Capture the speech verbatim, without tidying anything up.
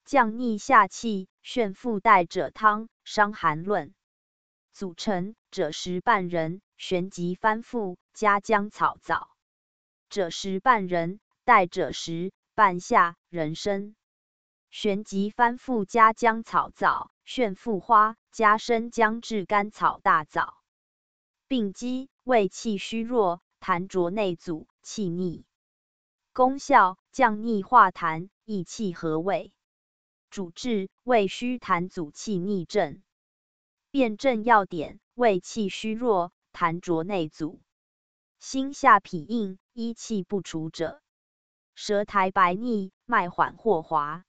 降逆下氣，眩腹帶者湯，傷寒論。組成者實半人，旋即翻覆，加薑草棗。者實半人，帶者實半夏、人參。旋即翻覆加薑草棗，眩腹花加生薑炙甘草大棗。病機胃氣虛弱，痰濁內阻，氣逆。功效降逆化痰，益氣和胃。主治胃虛痰阻氣逆症。辨證要點：胃氣虛弱，痰濁內阻，心下痞硬，依氣不除者；舌苔白膩，脈緩或滑。